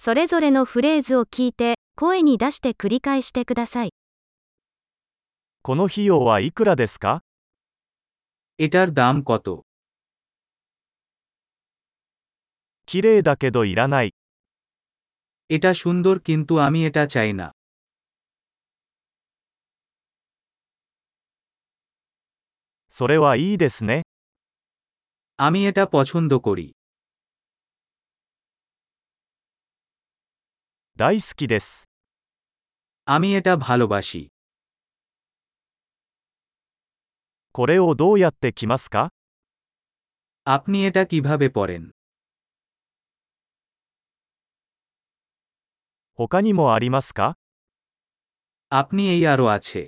それぞれのフレーズを聞いて、声に出して繰り返してください。 この費用はいくらですか？ এটার দাম কত? 綺麗だけどいらない。 এটা সুন্দর কিন্তু আমি এটা চাই না। それはいいですね。 আমি এটা পছন্দ করি। 大好きです。 আমি এটা ভালোবাসি। これをどうやって着ますか？ আপনি এটা কিভাবে পরেন? 他にもありますか？ আপনি এই আরও আছে।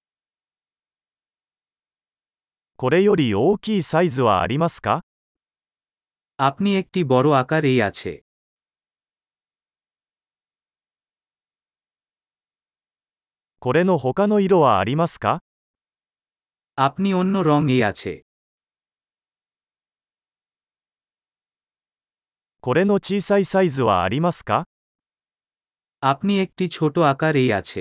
これより大きいサイズはありますか？ আপনি একটি বড় আকার এই আছে। これの他の色はありますか？ আপনি অন্য রং এই আছে। これの小さいサイズはありますか？ আপনি একটি ছোট আকার এই আছে।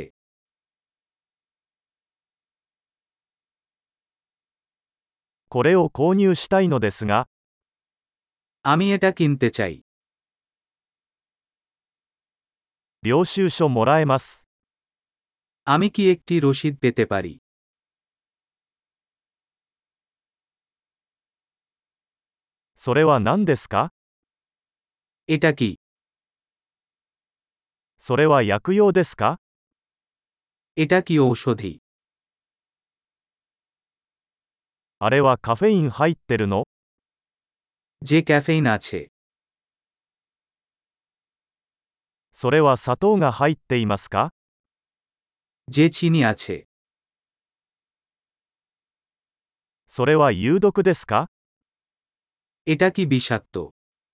これを購入したいのですが、 আমি এটা কিনতে চাই। 領収書もらえます。 আমি কি একটি রসিদ পেতে পারি? それは何ですか？ এটা কি? それは薬用ですか？ এটা কি ঔষধি? あれはカフェイン入ってるの？ যে ক্যাফেইন আছে। それは砂糖が入っていますか？ যে চিনি আছে। それは有毒ですか？ এটা কি বিষাক্ত?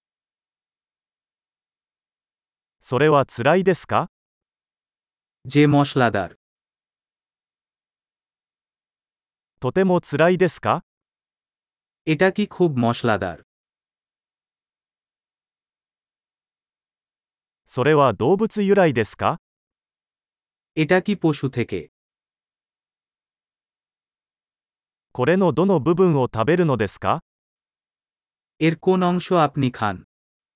それは辛いですか？ যে মশলাদার। とても辛いですか？ এটা কি খুব মশলাদার? それは動物由来ですか？ এটা কি পশু থেকে? これのどの部分を食べるのですか？ এর কোন অংশ আপনি খান?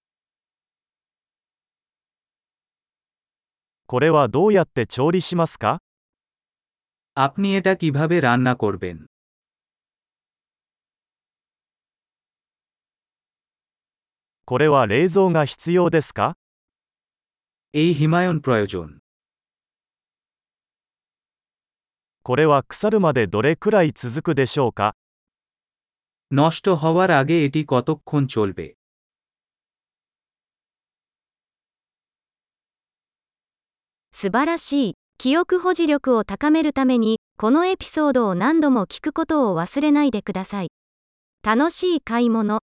これはどうやって調理しますか？ আপনি এটা কিভাবে রান্না করবেন? これは冷蔵が必要ですか？ এই হিমায়ন প্রয়োজন। これは腐るまでどれくらい続くでしょうか？ নষ্ট হওয়ার আগে এটি কতক্ষণ চলবে? 素晴らしい。記憶保持力を高めるために、このエピソードを何度も聞くことを忘れないでください。楽しい買い物。